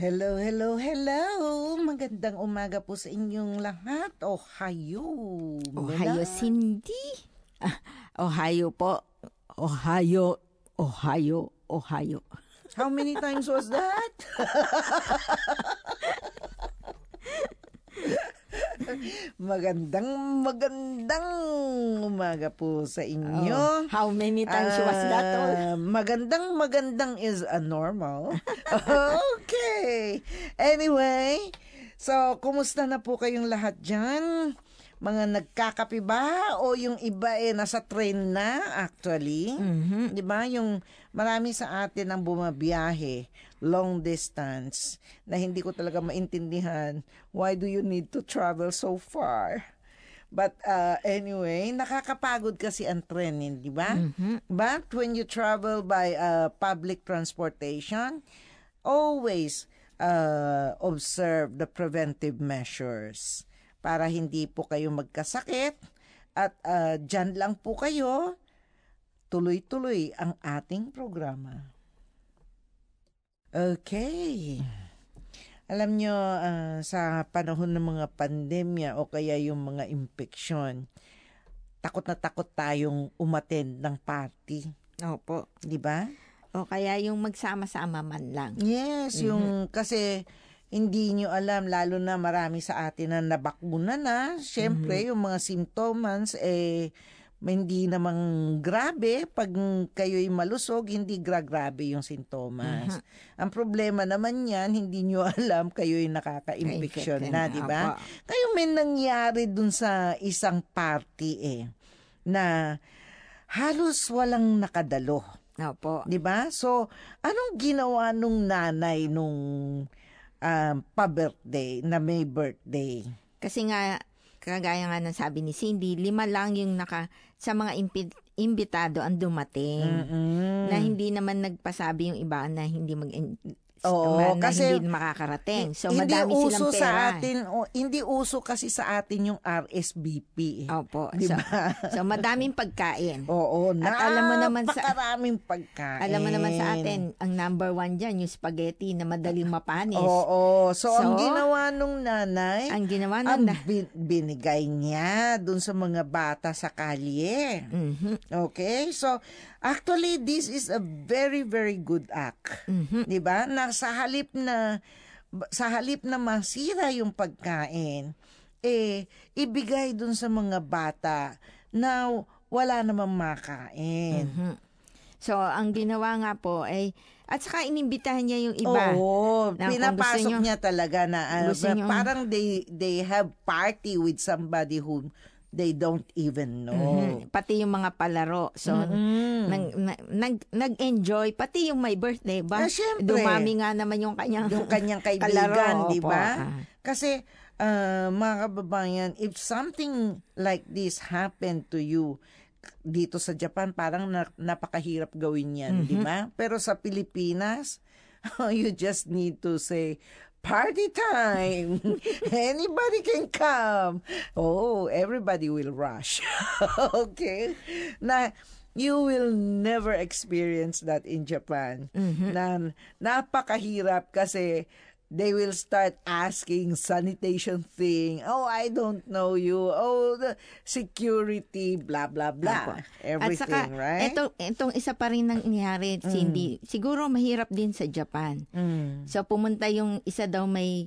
Hello, hello, hello! Magandang umaga po sa inyong lahat. Ohayo! Ohayo, Cindy. Ohayo po. Ohayo, Ohayo, Ohayo. How many times was that? Magandang umaga po sa inyo. How many times was that? Magandang is a normal. Okay. Anyway, so kumusta na po kayong lahat dyan? Mga nagkakape ba o yung iba nasa train na actually? Mm-hmm. 'Di ba? Yung marami sa atin ang bumabiyahe long distance na hindi ko talaga maintindihan. Why do you need to travel so far? But anyway, nakakapagod kasi ang tren, di ba? Mm-hmm. But when you travel by public transportation, always observe the preventive measures para hindi po kayo magkasakit at dyan lang po kayo, tuloy-tuloy ang ating programa. Okay. Alam nyo, sa panahon ng mga pandemya o kaya yung mga impeksyon, takot na takot tayong umattend ng party. Opo. Di ba? O kaya yung magsama-sama man lang. Yes, yung kasi hindi nyo alam, lalo na marami sa atin na nabakuna na. Siyempre, yung mga symptoms, hindi namang grabe. Pag kayo'y malusog, hindi grabe yung sintomas. Ang problema naman yan, hindi nyo alam, kayo'y nakaka-infection na, di ba? Kayo may nangyari dun sa isang party na halos walang nakadalo. Opo. Di ba? So, anong ginawa nung nanay nung pa-birthday, na may birthday? Kasi nga, kagaya nga ng sabi ni Cindy, 5 lang yung sa mga imbitado ang dumating. Na hindi naman nagpasabi yung iba na hindi kasi hindi makakarating. So madami silang pera. Sa atin, hindi uso kasi sa atin yung RSVP. Opo. Diba? So madaming pagkain. Oo, at alam mo naman napakaraming pagkain. Alam mo naman sa atin, ang number 1 dyan, yung spaghetti na madaling mapanis. Oo. So ang ginawa nung nanay, binigay niya dun sa mga bata sa kalye. Okay? So actually, this is a very, very good act. Diba? Sa halip na masira yung pagkain, ibigay dun sa mga bata na wala namang makain. So, ang ginawa nga po at saka inimbitahan niya yung iba. Oo, pinapasok niya talaga na parang they have party with somebody who they don't even know. Pati yung mga palaro. So, nag-enjoy. Pati yung my birthday ba? Dumami nga naman yung kanyang kaibigan, di ba? Kasi, mga kababayan, if something like this happened to you dito sa Japan, parang napakahirap gawin yan, di ba? Pero sa Pilipinas, you just need to say, party time! Anybody can come. Oh, everybody will rush. Okay? Na you will never experience that in Japan. Na napakahirap kasi they will start asking sanitation thing. Oh, I don't know you. Oh, the security, blah, blah, blah. Everything, right? Itong isa pa rin nangyari, Cindy. Siguro mahirap din sa Japan. So, pumunta yung isa daw may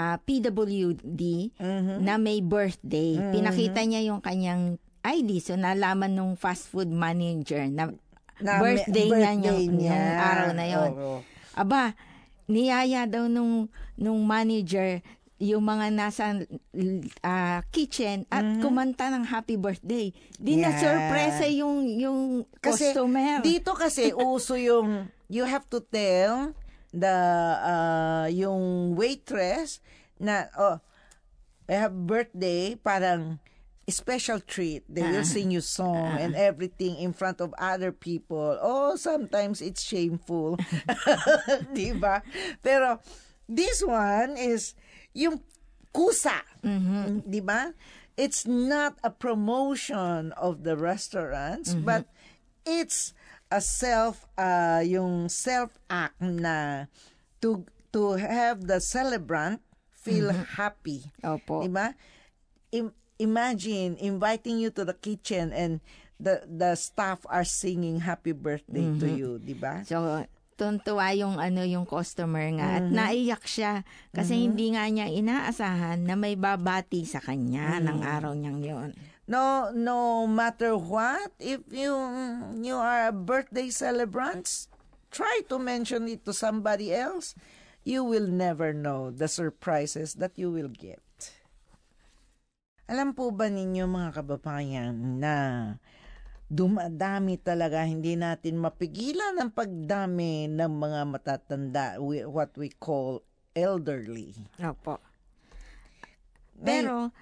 PWD na may birthday. Pinakita niya yung kanyang ID. So, nalaman nung fast food manager na birthday niya yung araw na yon. Aba, niyaya daw nung manager yung mga nasa kitchen at kumanta ng happy birthday. Di na surpresa yung customer. Dito kasi uso yung you have to tell the yung waitress na I have birthday, parang special treat. They will sing you song and everything in front of other people. Oh, sometimes it's shameful. Diba? Pero this one is yung kusa. Diba? It's not a promotion of the restaurants, but it's a yung self-act na to to have the celebrant feel happy. Opo. Diba? Imagine inviting you to the kitchen and the staff are singing happy birthday to you, diba? So, tuntua yung yung customer nga at naiyak siya kasi hindi nga niya inaasahan na may babati sa kanya ng araw niyang yon. No matter what, if you are a birthday celebrant, try to mention it to somebody else. You will never know the surprises that you will get. Alam po ba ninyo mga kababayan na dumadami talaga, hindi natin mapigilan ang pagdami ng mga matatanda, what we call elderly. Opo. Pero,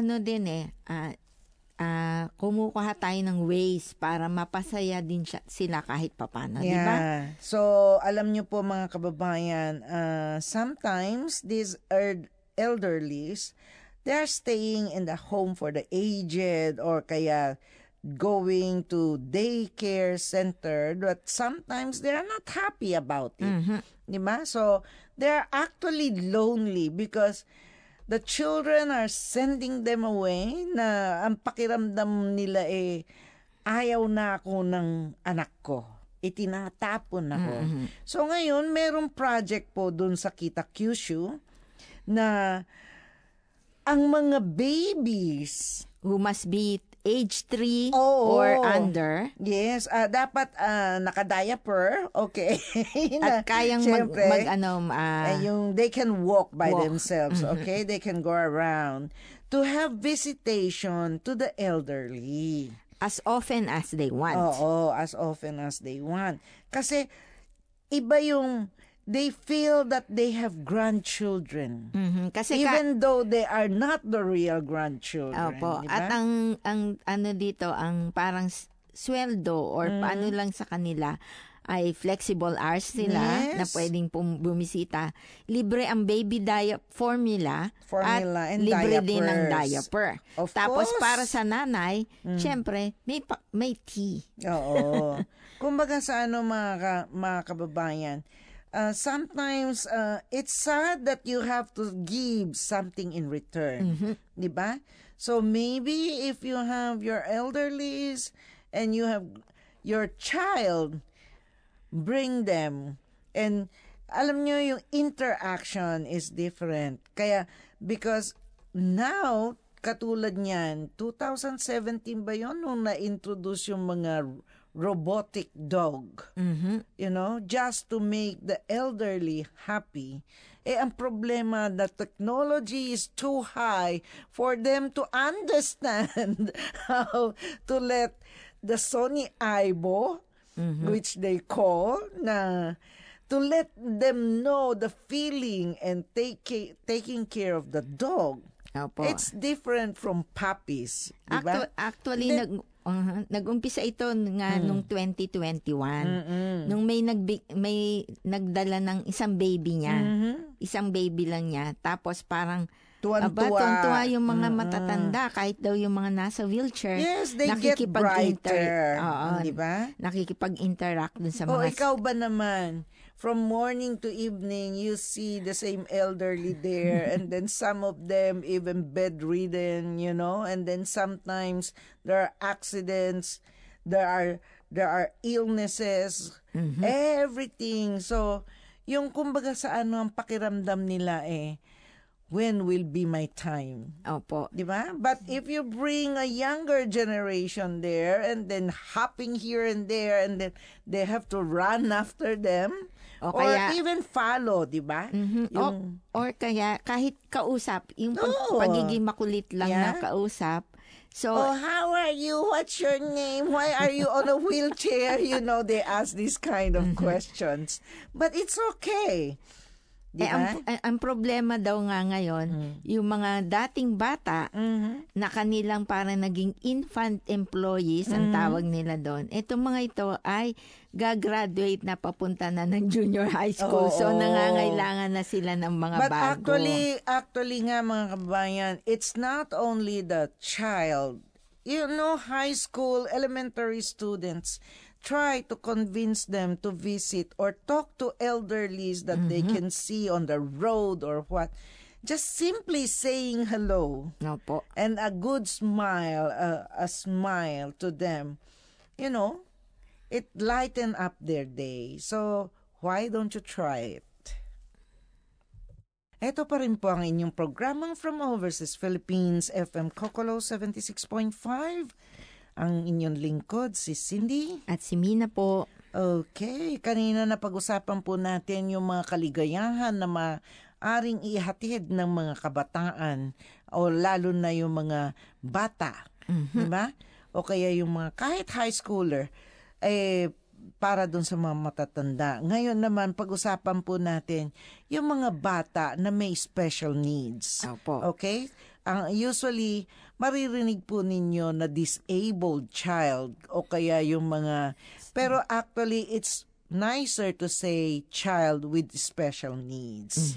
kumukuha tayo ng ways para mapasaya din sila kahit papano, di ba? So, alam nyo po mga kababayan, sometimes these elderlies, they're staying in the home for the aged or kaya going to daycare center, but sometimes they're not happy about it. Diba? So, they're actually lonely because the children are sending them away na ang pakiramdam nila ayaw na ako ng anak ko. Itinatapon ako. So, ngayon, merong project po dun sa Kita Kyushu na ang mga babies who must be age 3 or under. Yes, dapat naka-diaper, okay. At kayang yung they can walk by themselves, okay? They can go around to have visitation to the elderly. As often as they want. Oo, as often as they want. Kasi iba yung they feel that they have grandchildren. Kasi even though they are not the real grandchildren. Opo. Diba? At ang dito, ang parang sweldo or paano lang sa kanila ay flexible hours sila na pwedeng bumisita. Libre ang baby formula at and libre diapers. din ang diaper. Tapos course. para sa nanay, syempre, may tea. Oo. Kumbaga sa mga kababayan, sometimes it's sad that you have to give something in return. Diba? So maybe if you have your elderlies and you have your child, bring them. And alam nyo, yung interaction is different. Kaya, because now, katulad niyan, 2017 ba yun nung na-introduce yung mga robotic dog, you know, just to make the elderly happy. Ang problema, the technology is too high for them to understand how to let the Sony Aibo, which they call, to let them know the feeling and taking care of the dog. Opo. It's different from puppies. Diba? Actually, nag-umpisa ito nga nung 2021. Nung may nagdala ng isang baby niya. Isang baby lang niya. Tapos parang tuwan-tuwa yung mga matatanda kahit daw yung mga nasa wheelchair. Yes, they get brighter. Diba? Nakikipag-interact dun sa mga... ikaw ba naman? From morning to evening, you see the same elderly there, and then some of them even bedridden, you know, and then sometimes there are accidents, there are illnesses, everything. So, yung kumbaga sa ang pakiramdam nila when will be my time? Opo. Diba? But if you bring a younger generation there and then hopping here and there and then they have to run after them, or even follow, di ba? Or kaya kahit kausap, yung pagiging makulit lang na kausap. So, how are you? What's your name? Why are you on a wheelchair? You know, they ask these kind of questions. But it's okay. Diba? Ang problema daw nga ngayon, yung mga dating bata na kanilang parang naging infant employees, ang tawag nila doon. Itong mga ito ay gagraduate na papunta na ng junior high school. So, nangangailangan na sila ng mga bago. But actually nga mga kabayan, it's not only the child. You know, high school, elementary students, try to convince them to visit or talk to elderlies that they can see on the road or what. Just simply saying hello and a good smile, a smile to them, it lighten up their day. So, why don't you try it? Ito pa rin po ang inyong programang From Overseas Philippines, FM Kokolo 76.5. Ang inyong lingkod, si Cindy. At si Mina po. Okay, kanina na pag-usapan po natin yung mga kaligayahan na maaring ihatid ng mga kabataan o lalo na yung mga bata. Diba? O kaya yung mga kahit high schooler, para dun sa mga matatanda. Ngayon naman, pag-usapan po natin yung mga bata na may special needs. Opo. Okay? Usually, maririnig po ninyo na disabled child o kaya yung mga... Pero actually, it's nicer to say child with special needs.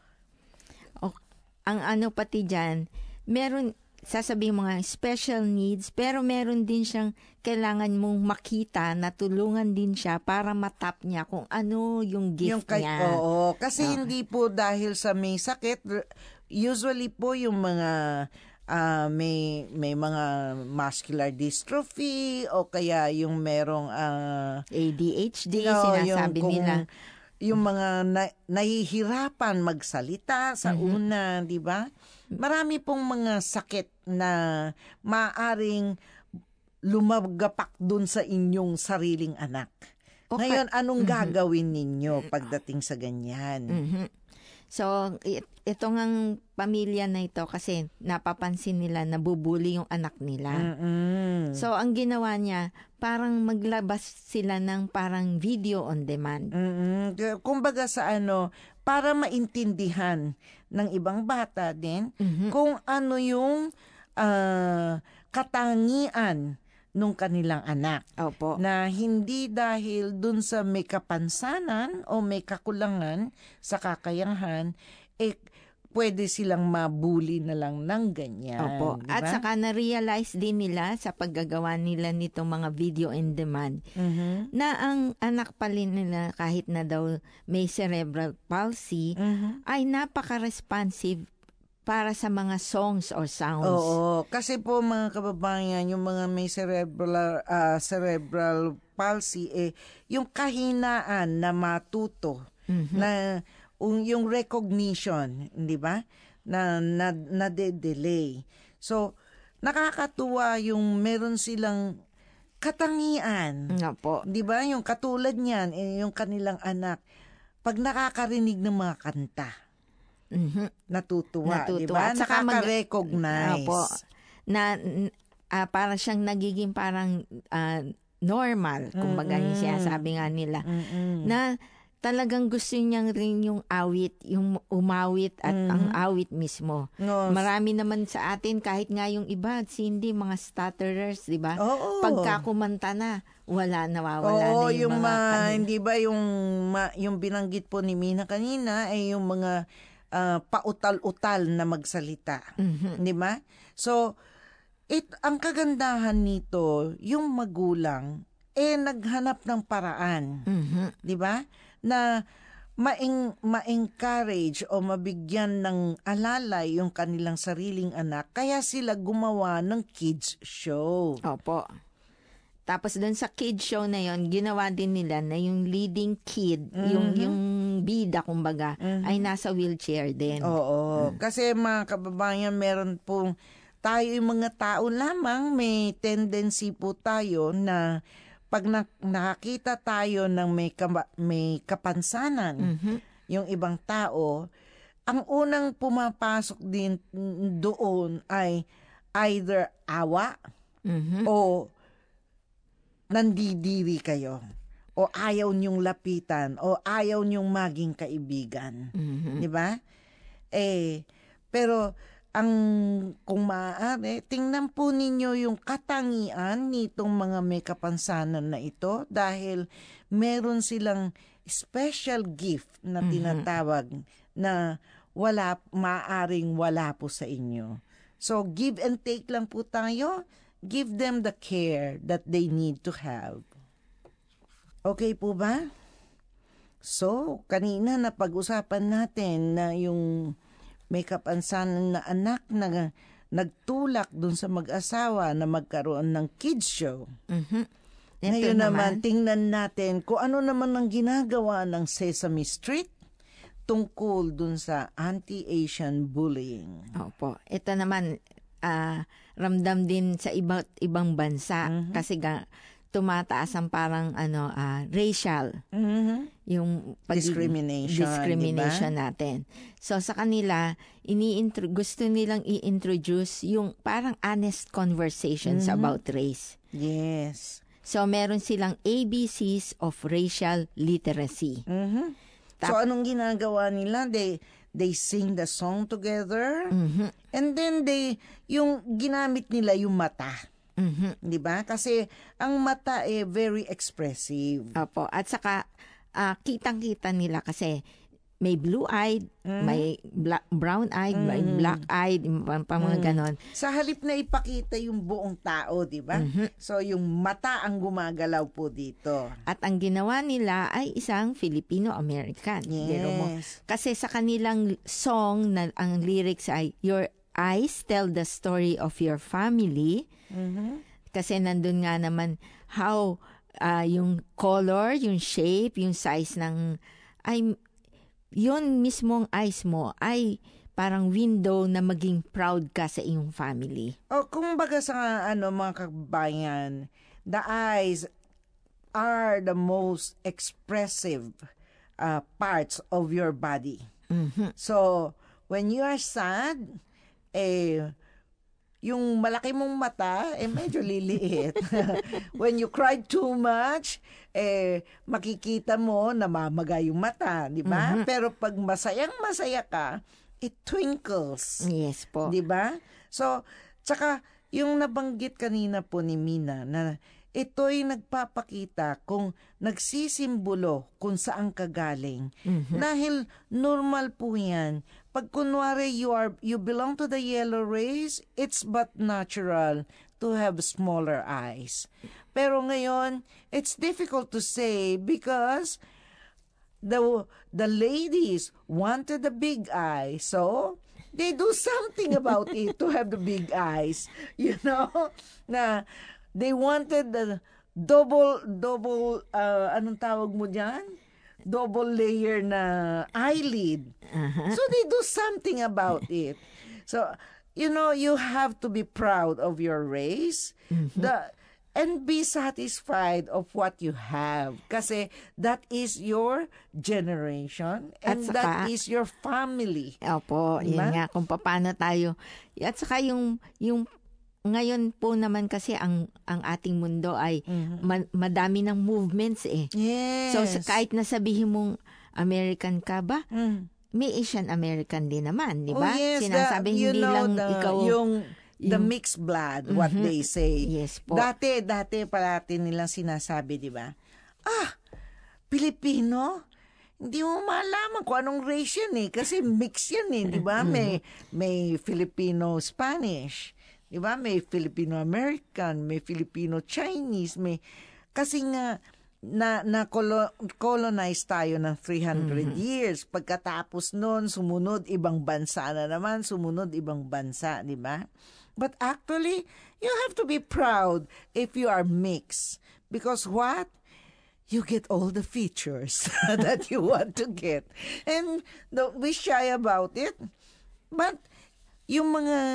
Ang ano pati dyan, meron... sasabihin mga special needs, pero meron din siyang kailangan mong makita na tulungan din siya para matap niya kung ano yung gift niya. Oo, kasi hindi po dahil sa may sakit, usually po yung mga may mga muscular dystrophy o kaya yung merong ADHD, sinasabi nila. Yung mga nahihirapan magsalita sa una, di ba? Marami pong mga sakit na maaring lumagapak dun sa inyong sariling anak. Okay. Ngayon, anong gagawin ninyo pagdating sa ganyan? So, ito ngang pamilya na ito kasi napapansin nila nabubuli yung anak nila. So, ang ginawa niya, parang maglabas sila ng parang video on demand. Kumbaga sa para maintindihan ng ibang bata din kung ano yung katangian nung kanilang anak. Opo. Na hindi dahil dun sa may kapansanan o may kakulangan sa kakayahan, pwede silang mabuli na lang ng ganyan. Opo. Diba? At saka na-realize din nila sa paggagawa nila nitong mga video in demand na ang anak pala nila kahit na daw may cerebral palsy ay napaka-responsive para sa mga songs or sounds. Oo. Kasi po mga kababayan, yung mga may cerebral palsy, yung kahinaan na matuto, na yung recognition, di ba? Na de-delay. So, nakakatuwa yung meron silang katangian. Opo. Di ba? Yung katulad niyan, yung kanilang anak, pag nakakarinig ng mga kanta, natutuwa, di ba? Nakaka-recognize. Opo. Para siyang nagiging parang normal, kumbaga yung sinasabi nga nila. Na talagang gusto niyang rin yung awit, yung umawit at ang awit mismo. No. Marami naman sa atin, kahit nga yung iba, hindi mga stutterers, di ba? Pagka kumanta na, nawawala na yung mga hindi ba yung binanggit po ni Mina kanina ay yung mga pautal-utal na magsalita. Di ba? So, ang kagandahan nito, yung magulang, naghanap ng paraan. Di ba? Na ma-encourage o mabigyan ng alalay yung kanilang sariling anak. Kaya sila gumawa ng kids show. Opo. Tapos doon sa kids show na yon, ginawa din nila na yung leading kid, yung bida kumbaga, ay nasa wheelchair din. Oo. Kasi mga kababayan, meron pong tayo yung mga tao lamang, may tendency po tayo na pag nakakita tayo ng may kapansanan, yung ibang tao, ang unang pumapasok din doon ay either awa o nandidiri kayo o ayaw niyong lapitan o ayaw niyong maging kaibigan. Di ba? Pero kung maaari, tingnan po ninyo yung katangian nitong mga may kapansanan na ito dahil meron silang special gift na tinatawag na maaring wala po sa inyo. So, give and take lang po tayo. Give them the care that they need to have. Okay po ba? So, kanina napag-usapan natin na yung may kapansanan na anak na nagtulak dun sa mag-asawa na magkaroon ng kids show. Ngayon naman, tingnan natin kung ano naman ang ginagawa ng Sesame Street tungkol dun sa anti-Asian bullying. Opo. Ito naman, ramdam din sa ibang bansa kasi tumataas ang parang racial yung discrimination diba? Natin. So sa kanila gusto nilang i-introduce yung parang honest conversations about race. Yes. So meron silang ABCs of racial literacy. So anong ginagawa nila? They sing the song together and then yung ginamit nila yung mata. Di ba? Kasi ang mata very expressive. Opo. At saka kitang-kita nila kasi may blue-eyed, may brown-eyed, may black-eyed, mga ganon. Sa halip na ipakita yung buong tao, di ba? So yung mata ang gumagalaw po dito. At ang ginawa nila ay isang Filipino-American. Yes. Kasi sa kanilang song na ang lyrics ay Your eyes tell the story of your family. Kasi nandun nga naman how yung color, yung shape, yung size ng ay yun mismong eyes mo ay parang window na maging proud ka sa iyong family. Kung baga sa mga kabayan, the eyes are the most expressive parts of your body. So when you are sad, yung malaki mong mata, medyo liliit. When you cry too much, makikita mo na mamaga yung mata, di ba? Pero pag masayang-masaya ka, it twinkles. Yes po. Di ba? So, tsaka yung nabanggit kanina po ni Mina na ito'y nagpapakita kung nagsisimbolo kung saan ka galing. Dahil normal po yan. Pag kunwari you belong to the yellow race, it's but natural to have smaller eyes. Pero ngayon, it's difficult to say because the ladies wanted the big eye. So, they do something about it to have the big eyes. You know? Na they wanted the double anong tawag mo dyan? Double layer na eyelid. So they do something about it. So, you have to be proud of your race and be satisfied of what you have. Kasi that is your generation and saka, that is your family. Opo, diba? Yun nga kung paano tayo. At saka yung ngayon po naman kasi ang ating mundo ay madami ng movements Yes. So kahit nasabihin mong American ka ba, may Asian American din naman, di ba? Yes, sinasabi hindi lang ikaw the mixed blood, what they say. Yes po. Dati parati nilang sinasabi, di ba? Pilipino? Hindi mo malaman kung anong race yan kasi mix yan di ba? May Filipino-Spanish. Diba? May Filipino-American, may Filipino-Chinese, kasi nga colonize tayo ng 300 years. Pagkatapos nun, sumunod ibang bansa na naman, di ba? But actually, you have to be proud if you are mixed. Because what? You get all the features that you want to get. And don't be shy about it. But yung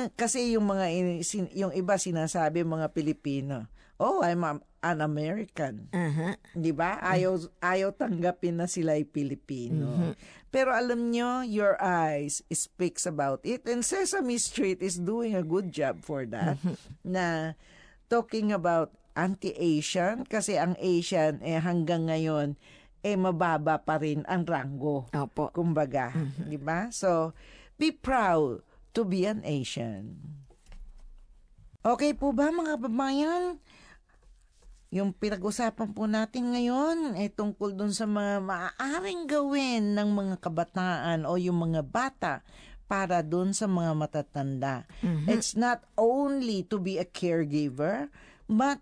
iba sinasabi mga Pilipino, I'm an American. Di ba? Ayaw tanggapin na sila ay Pilipino. Pero alam nyo, your eyes speaks about it. And Sesame Street is doing a good job for that. Na talking about anti-Asian, kasi ang Asian hanggang ngayon mababa pa rin ang ranggo. Opo. Kumbaga, di ba? So, be proud to be an Asian. Okay po ba mga kababayan? Yung pinag-usapan po natin ngayon ay tungkol dun sa mga maaaring gawin ng mga kabataan o yung mga bata para dun sa mga matatanda. It's not only to be a caregiver, but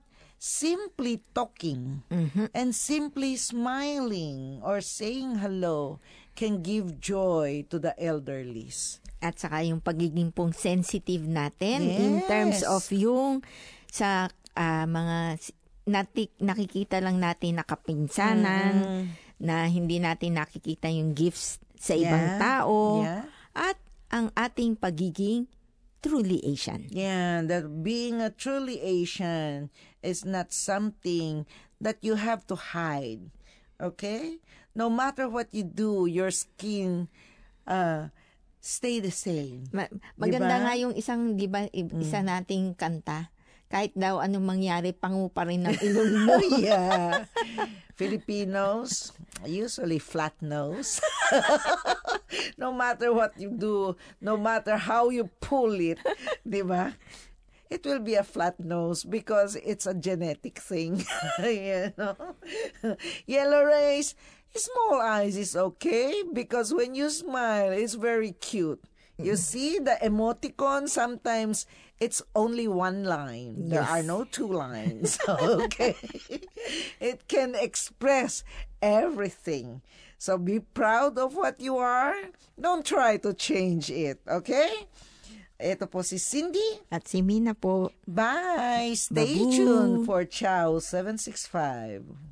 simply talking and simply smiling or saying hello can give joy to the elderlies. At saka yung pagiging pong sensitive natin Yes. in terms of yung sa mga nakikita lang natin na kapinsanan, na hindi natin nakikita yung gifts sa ibang tao, at ang ating pagiging truly Asian. Yeah, that being a truly Asian is not something that you have to hide. Okay? No matter what you do, your skin stay the same. Maganda diba? nga yung isang, di ba, isa nating kanta. Kahit daw anong mangyari, pangu pa rin ng ilong mo. Yeah. Filipinos, usually flat nose. No matter what you do, no matter how you pull it, di ba? It will be a flat nose because it's a genetic thing. You know? Yellow rays, small eyes is okay because when you smile, it's very cute. You see the emoticon, sometimes it's only one line. There are no two lines. Okay. It can express everything. So be proud of what you are. Don't try to change it. Okay? Ito po si Cindy. At si Mina po. Bye. Stay tuned for Chow 765.